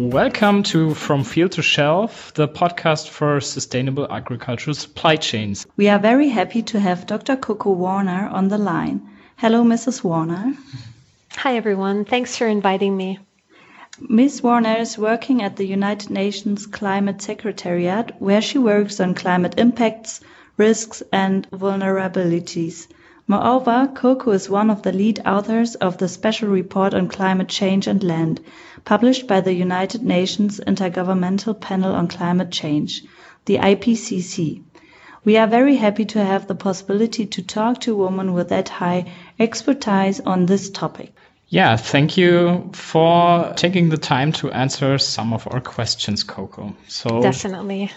Welcome to From Field to Shelf, the podcast for sustainable agricultural supply chains. We are very happy to have Dr. Coco Warner on the line. Hello, Mrs. Warner. Hi, everyone. Thanks for inviting me. Ms. Warner is working at the United Nations Climate Secretariat, where she works on climate impacts, risks, and vulnerabilities. Moreover, Coco is one of the lead authors of the Special Report on Climate Change and Land, published by the United Nations Intergovernmental Panel on Climate Change, the IPCC. We are very happy to have the possibility to talk to a woman with that high expertise on this topic. Yeah, thank you for taking the time to answer some of our questions, Coco. Definitely.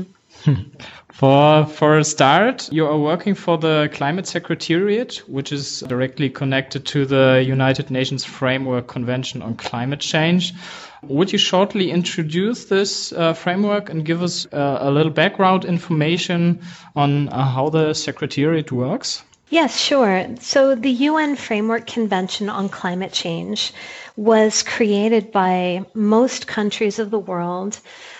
For a start, you are working for the Climate Secretariat, which is directly connected to the United Nations Framework Convention on Climate Change. Would you shortly introduce this framework and give us a little background information on how the Secretariat works? Yes, sure. So the UN Framework Convention on Climate Change was created by most countries of the world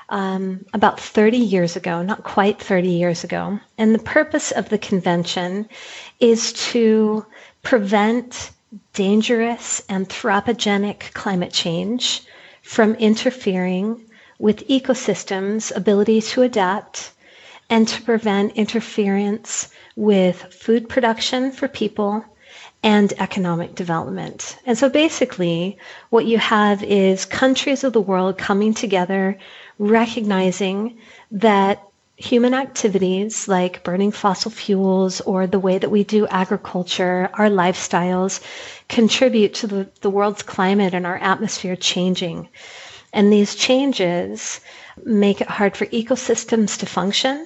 about 30 years ago, not quite 30 years ago. And the purpose of the convention is to prevent dangerous anthropogenic climate change from interfering with ecosystems' ability to adapt and to prevent interference with food production for people and economic development. And so basically what you have is countries of the world coming together, recognizing that human activities like burning fossil fuels or the way that we do agriculture, our lifestyles, contribute to the world's climate and our atmosphere changing. And these changes make it hard for ecosystems to function.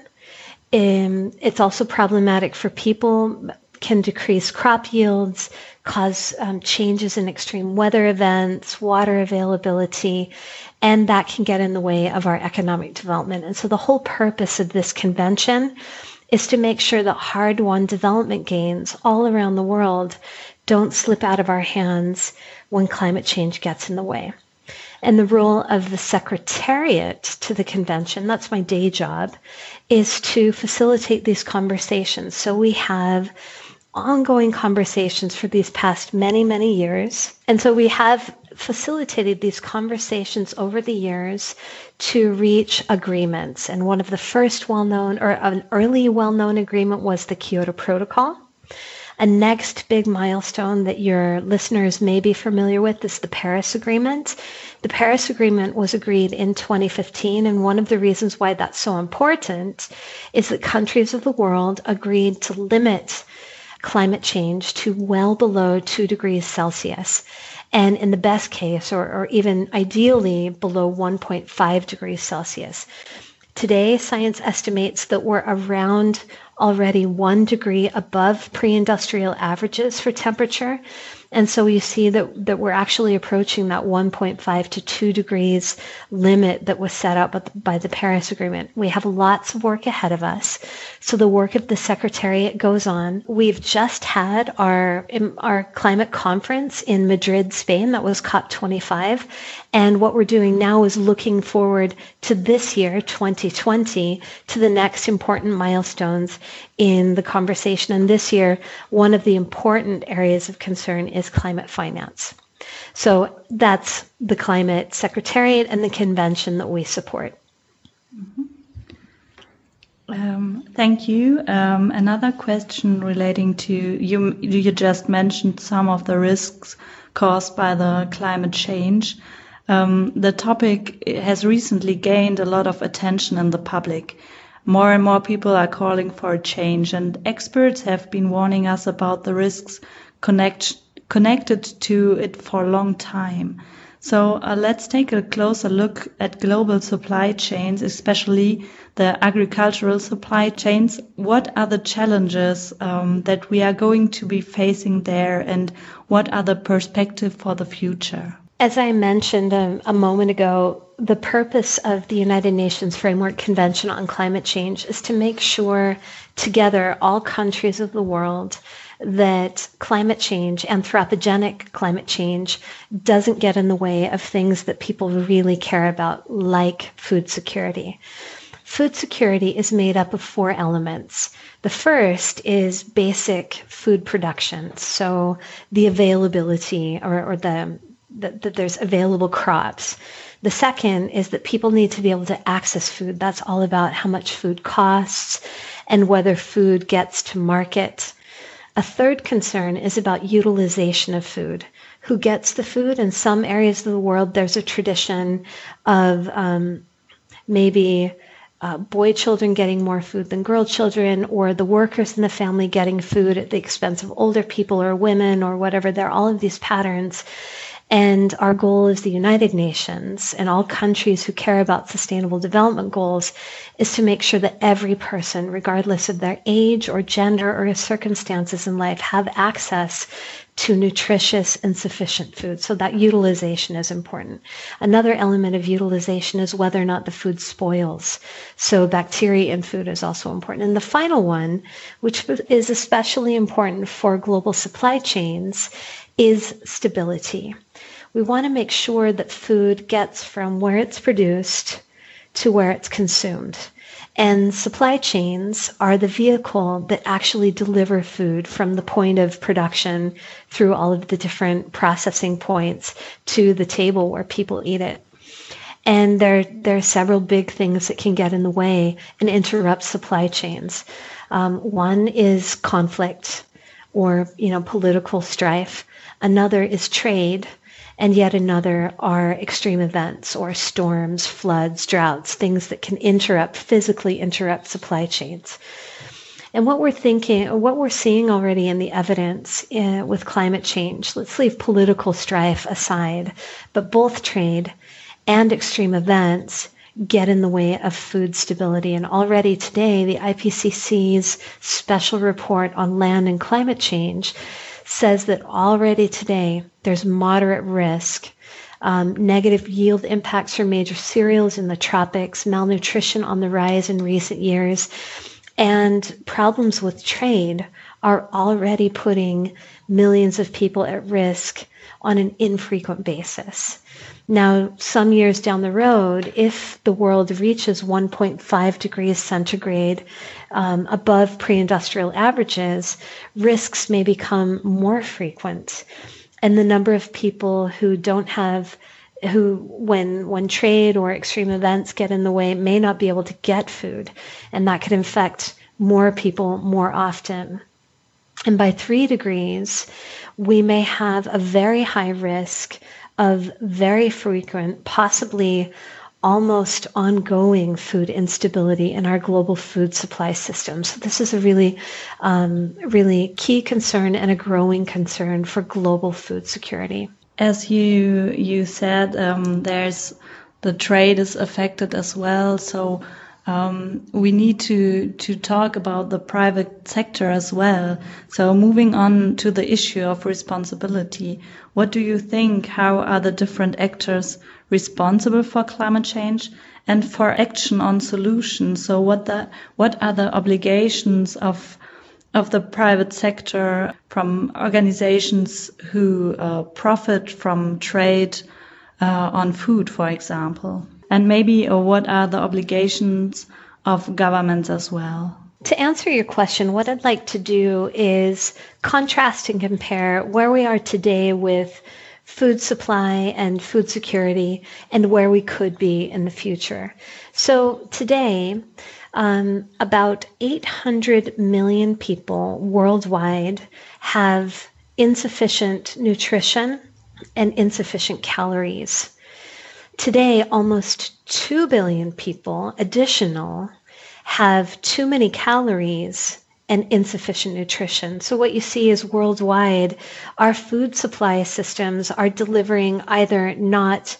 It's also problematic for people, can decrease crop yields, cause changes in extreme weather events, water availability, and that can get in the way of our economic development. And so the whole purpose of this convention is to make sure that hard-won development gains all around the world don't slip out of our hands when climate change gets in the way. And the role of the Secretariat to the convention, that's my day job, is to facilitate these conversations. So we have ongoing conversations for these past many, many years. And so we have facilitated these conversations over the years to reach agreements. And one of the first well-known, or an early well-known agreement, was the Kyoto Protocol. A next big milestone that your listeners may be familiar with is the Paris Agreement. The Paris Agreement was agreed in 2015, and one of the reasons why that's so important is that countries of the world agreed to limit climate change to well below 2 degrees Celsius, and in the best case, or even ideally, below 1.5 degrees Celsius. Today, science estimates that we're around already 1 degree above pre-industrial averages for temperature. And so you see that we're actually approaching that 1.5 to 2 degrees limit that was set up by the Paris Agreement. We have lots of work ahead of us. So the work of the Secretariat goes on. We've just had our climate conference in Madrid, Spain. That was COP25. And what we're doing now is looking forward to this year, 2020, to the next important milestones in the conversation. And this year, one of the important areas of concern is climate finance. So that's the Climate Secretariat and the convention that we support. Thank you. Another question relating to, you just mentioned some of the risks caused by the climate change. The topic has recently gained a lot of attention in the public. More and more people are calling for a change, and experts have been warning us about the risks connected to it for a long time. So let's take a closer look at global supply chains, especially the agricultural supply chains. What are the challenges that we are going to be facing there, and what are the perspectives for the future? As I mentioned a moment ago, the purpose of the United Nations Framework Convention on Climate Change is to make sure together, all countries of the world, that climate change, anthropogenic climate change, doesn't get in the way of things that people really care about, like food security. Food security is made up of 4 elements. The first is basic food production, so the availability or that there's available crops. The second is that people need to be able to access food. That's all about how much food costs and whether food gets to market. A third concern is about utilization of food. Who gets the food? In some areas of the world, there's a tradition of maybe boy children getting more food than girl children, or the workers in the family getting food at the expense of older people or women or whatever. There are all of these patterns. And our goal as the United Nations and all countries who care about sustainable development goals is to make sure that every person, regardless of their age or gender or circumstances in life, have access to nutritious and sufficient food. So that utilization is important. Another element of utilization is whether or not the food spoils. So bacteria in food is also important. And the final one, which is especially important for global supply chains, is stability. We want to make sure that food gets from where it's produced to where it's consumed. And supply chains are the vehicle that actually deliver food from the point of production through all of the different processing points to the table where people eat it. And there are several big things that can get in the way and interrupt supply chains. One is conflict or political strife. Another is trade. And yet another are extreme events or storms, floods, droughts, things that can physically interrupt supply chains. And what we're seeing already in the evidence with climate change, let's leave political strife aside, but both trade and extreme events get in the way of food stability. And already today, the IPCC's special report on land and climate change says that already today there's moderate risk, negative yield impacts from major cereals in the tropics, malnutrition on the rise in recent years, and problems with trade are already putting millions of people at risk on an infrequent basis. Now, some years down the road, if the world reaches 1.5 degrees centigrade above pre-industrial averages, risks may become more frequent. And the number of people who when trade or extreme events get in the way, may not be able to get food. And that could infect more people more often. And by 3 degrees, we may have a very high risk of very frequent, possibly almost ongoing food instability in our global food supply system. So this is a really, really key concern and a growing concern for global food security. As you said, there's the trade is affected as well. So we need to talk about the private sector as well. So moving on to the issue of responsibility, what do you think? How are the different actors responsible for climate change and for action on solutions? So what are the obligations of the private sector from organizations who profit from trade on food, for example? And maybe what are the obligations of governments as well? To answer your question, what I'd like to do is contrast and compare where we are today with food supply and food security and where we could be in the future. So today, about 800 million people worldwide have insufficient nutrition and insufficient calories. Today, almost 2 billion people additional have too many calories and insufficient nutrition. So what you see is worldwide, our food supply systems are delivering either not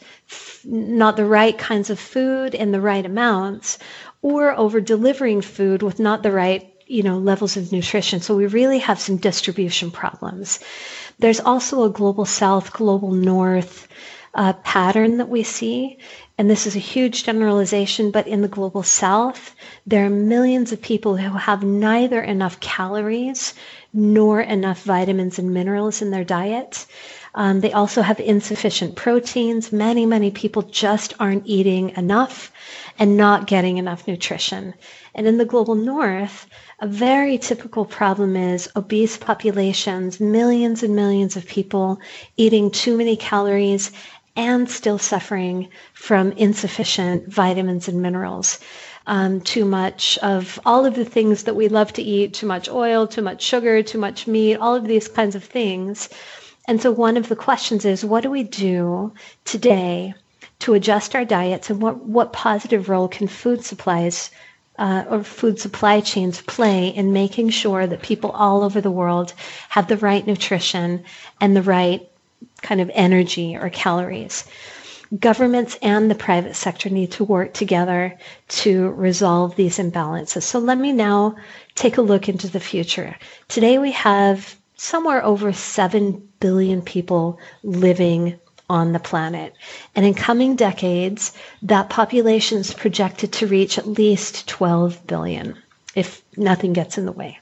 the right kinds of food in the right amounts, or over delivering food with not the right levels of nutrition. So we really have some distribution problems. There's also a global south, global north pattern that we see, and this is a huge generalization, but in the global south, there are millions of people who have neither enough calories nor enough vitamins and minerals in their diet. They also have insufficient proteins. Many people just aren't eating enough and not getting enough nutrition. And in the global north, a very typical problem is obese populations, millions and millions of people eating too many calories and still suffering from insufficient vitamins and minerals. Too much of all of the things that we love to eat, too much oil, too much sugar, too much meat, all of these kinds of things. And so one of the questions is, what do we do today to adjust our diets, and what positive role can food supplies or food supply chains play in making sure that people all over the world have the right nutrition and the right kind of energy or calories? Governments and the private sector need to work together to resolve these imbalances. So let me now take a look into the future. Today we have somewhere over 7 billion people living on the planet. And in coming decades, that population is projected to reach at least 12 billion, if nothing gets in the way.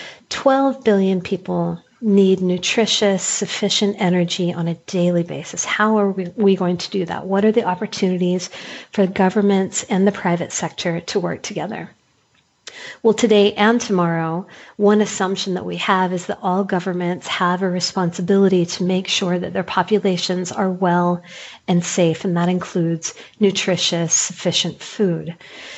12 billion people need nutritious, sufficient energy on a daily basis. How are we going to do that? What are the opportunities for governments and the private sector to work together? Well, today and tomorrow, one assumption that we have is that all governments have a responsibility to make sure that their populations are well and safe, and that includes nutritious, sufficient food.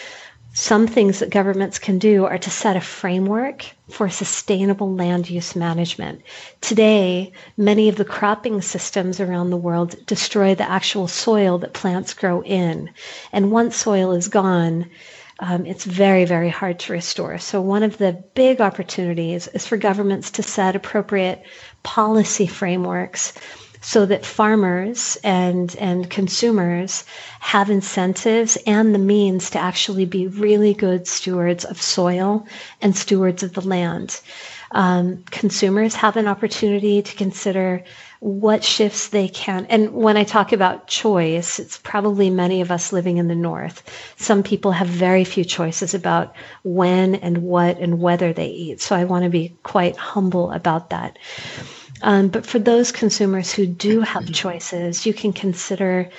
Some things that governments can do are to set a framework for sustainable land use management. Today, many of the cropping systems around the world destroy the actual soil that plants grow in. And once soil is gone, it's very, very hard to restore. So one of the big opportunities is for governments to set appropriate policy frameworks so that farmers and consumers have incentives and the means to actually be really good stewards of soil and stewards of the land. Consumers have an opportunity to consider what shifts they can. And when I talk about choice, it's probably many of us living in the north. Some people have very few choices about when and what and whether they eat. So I want to be quite humble about that. But for those consumers who do have choices, you can consider,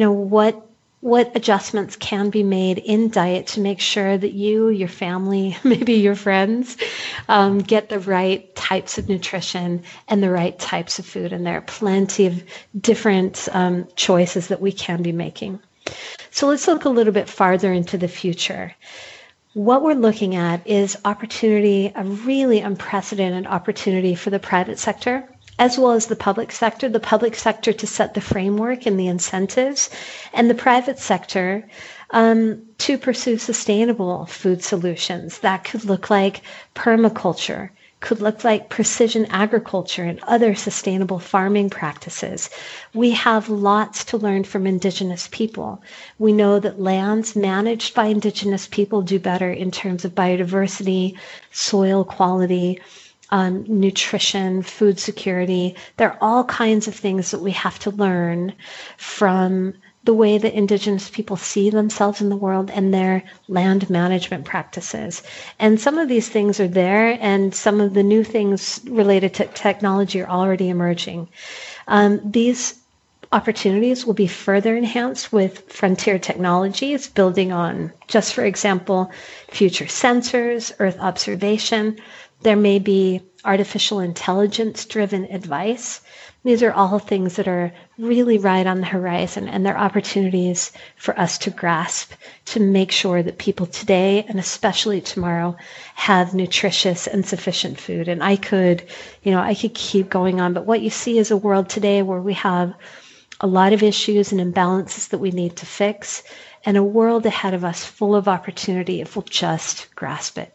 what adjustments can be made in diet to make sure that you, your family, maybe your friends, get the right types of nutrition and the right types of food. And there are plenty of different choices that we can be making. So let's look a little bit farther into the future. What we're looking at is opportunity, a really unprecedented opportunity for the private sector, as well as the public sector to set the framework and the incentives, and the private sector to pursue sustainable food solutions. That could look like permaculture, could look like precision agriculture and other sustainable farming practices. We have lots to learn from Indigenous people. We know that lands managed by Indigenous people do better in terms of biodiversity, soil quality, nutrition, food security. There are all kinds of things that we have to learn from the way that Indigenous people see themselves in the world and their land management practices. And some of these things are there, and some of the new things related to technology are already emerging. These opportunities will be further enhanced with frontier technologies, building on, just for example, future sensors, Earth observation. There may be artificial intelligence-driven advice. These are all things that are really right on the horizon, and they're opportunities for us to grasp to make sure that people today, and especially tomorrow, have nutritious and sufficient food. And I could keep going on, but what you see is a world today where we have a lot of issues and imbalances that we need to fix, and a world ahead of us full of opportunity if we'll just grasp it.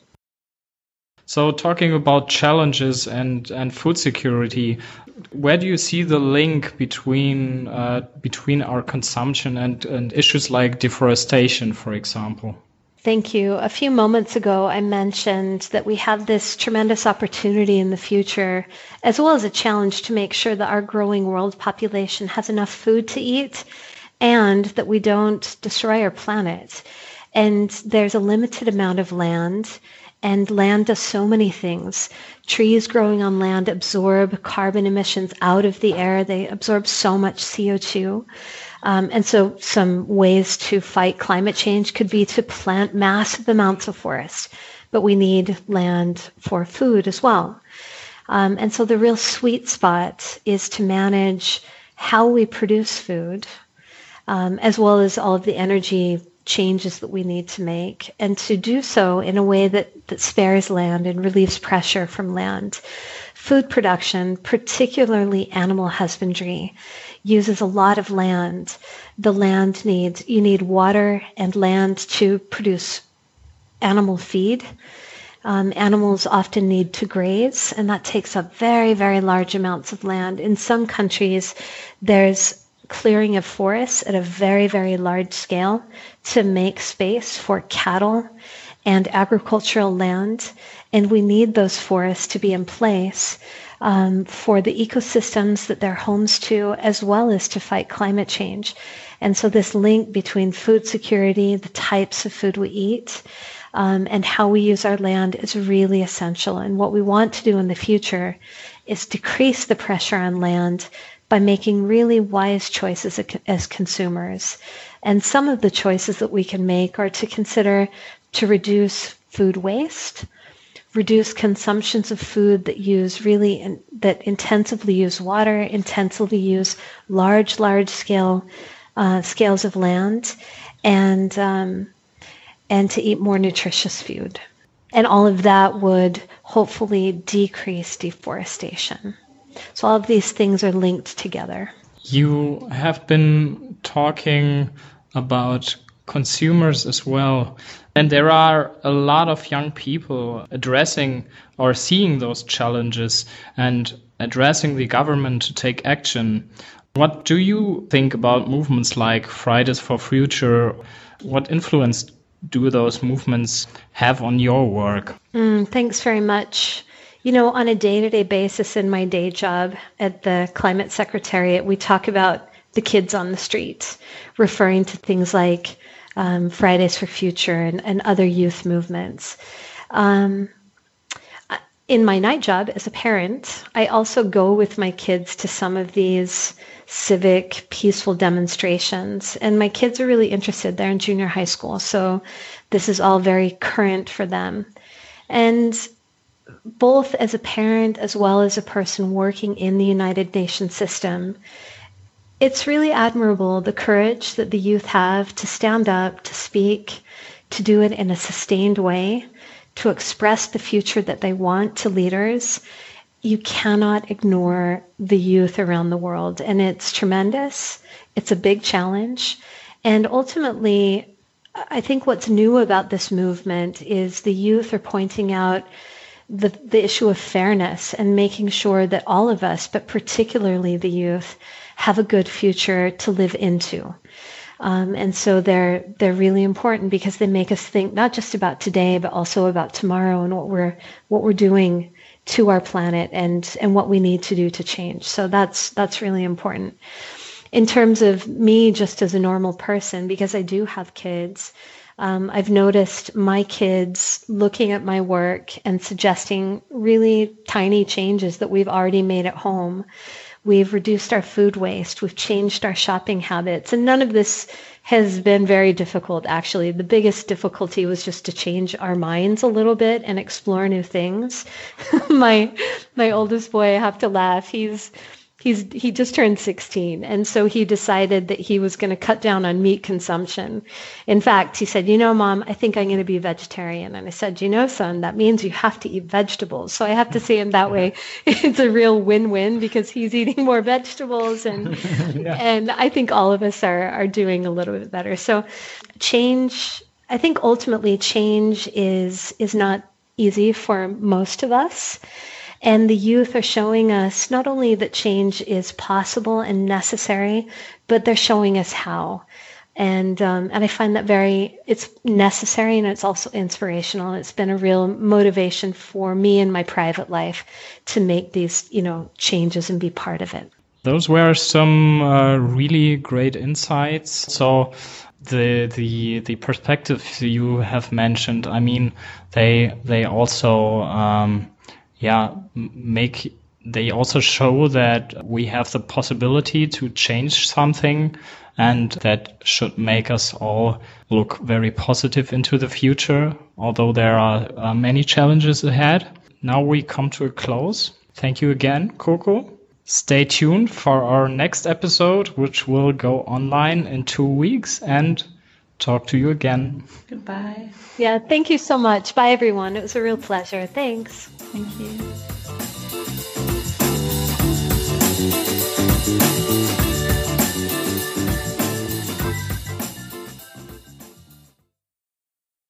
So talking about challenges and food security, where do you see the link between our consumption and issues like deforestation, for example? Thank you. A few moments ago, I mentioned that we have this tremendous opportunity in the future, as well as a challenge to make sure that our growing world population has enough food to eat and that we don't destroy our planet. And there's a limited amount of land, and land does so many things. Trees growing on land absorb carbon emissions out of the air. They absorb so much CO2. And so some ways to fight climate change could be to plant massive amounts of forest, but we need land for food as well. And so the real sweet spot is to manage how we produce food, as well as all of the energy changes that we need to make, and to do so in a way that spares land and relieves pressure from land. Food production, particularly animal husbandry, uses a lot of land. You need water and land to produce animal feed. Animals often need to graze, and that takes up very, very large amounts of land. In some countries, there's clearing of forests at a very, very large scale to make space for cattle and agricultural land, and we need those forests to be in place for the ecosystems that they're homes to, as well as to fight climate change. And so this link between food security, the types of food we eat, and how we use our land is really essential. And what we want to do in the future is decrease the pressure on land by making really wise choices as consumers. And some of the choices that we can make are to consider to reduce food waste, reduce consumptions of food that intensively use water, intensively use large scales of land, and to eat more nutritious food. And all of that would hopefully decrease deforestation. So all of these things are linked together. You have been talking about consumers as well. And there are a lot of young people addressing or seeing those challenges and addressing the government to take action. What do you think about movements like Fridays for Future? What influence do those movements have on your work? Thanks very much. You know, on a day-to-day basis in my day job at the Climate Secretariat, we talk about the kids on the street, referring to things like Fridays for Future and other youth movements. In my night job as a parent, I also go with my kids to some of these civic, peaceful demonstrations. And my kids are really interested. They're in junior high school, so this is all very current for them. And both as a parent as well as a person working in the United Nations system, it's really admirable the courage that the youth have to stand up, to speak, to do it in a sustained way, to express the future that they want to leaders. You cannot ignore the youth around the world, and it's tremendous. It's a big challenge. And ultimately, I think what's new about this movement is the youth are pointing out the issue of fairness and making sure that all of us, but particularly the youth, have a good future to live into. And so they're really important because they make us think not just about today, but also about tomorrow and what we're doing to our planet and what we need to do to change. So that's really important. In terms of me just as a normal person, because I do have kids, I've noticed my kids looking at my work and suggesting really tiny changes that we've already made at home. We've reduced our food waste. We've changed our shopping habits. And none of this has been very difficult, actually. The biggest difficulty was just to change our minds a little bit and explore new things. My oldest boy, I have to laugh. He just turned 16, and so he decided that he was going to cut down on meat consumption. In fact, he said, "You know, Mom, I think I'm going to be vegetarian." And I said, "You know, son, that means you have to eat vegetables." So I have to say in that way, it's a real win-win because he's eating more vegetables, and and I think all of us are doing a little bit better. So change, I think ultimately change is not easy for most of us. And the youth are showing us not only that change is possible and necessary, but they're showing us how. And I find that it's necessary, and it's also inspirational. It's been a real motivation for me in my private life to make these, changes and be part of it. Those were some really great insights. So the perspectives you have mentioned, I mean, they also they also show that we have the possibility to change something, and that should make us all look very positive into the future, although there are many challenges ahead. Now we come to a close. Thank you again, Coco. Stay tuned for our next episode, which will go online in 2 weeks, and talk to you again. Goodbye. Yeah, thank you so much. Bye, everyone. It was a real pleasure. Thanks. Thank you.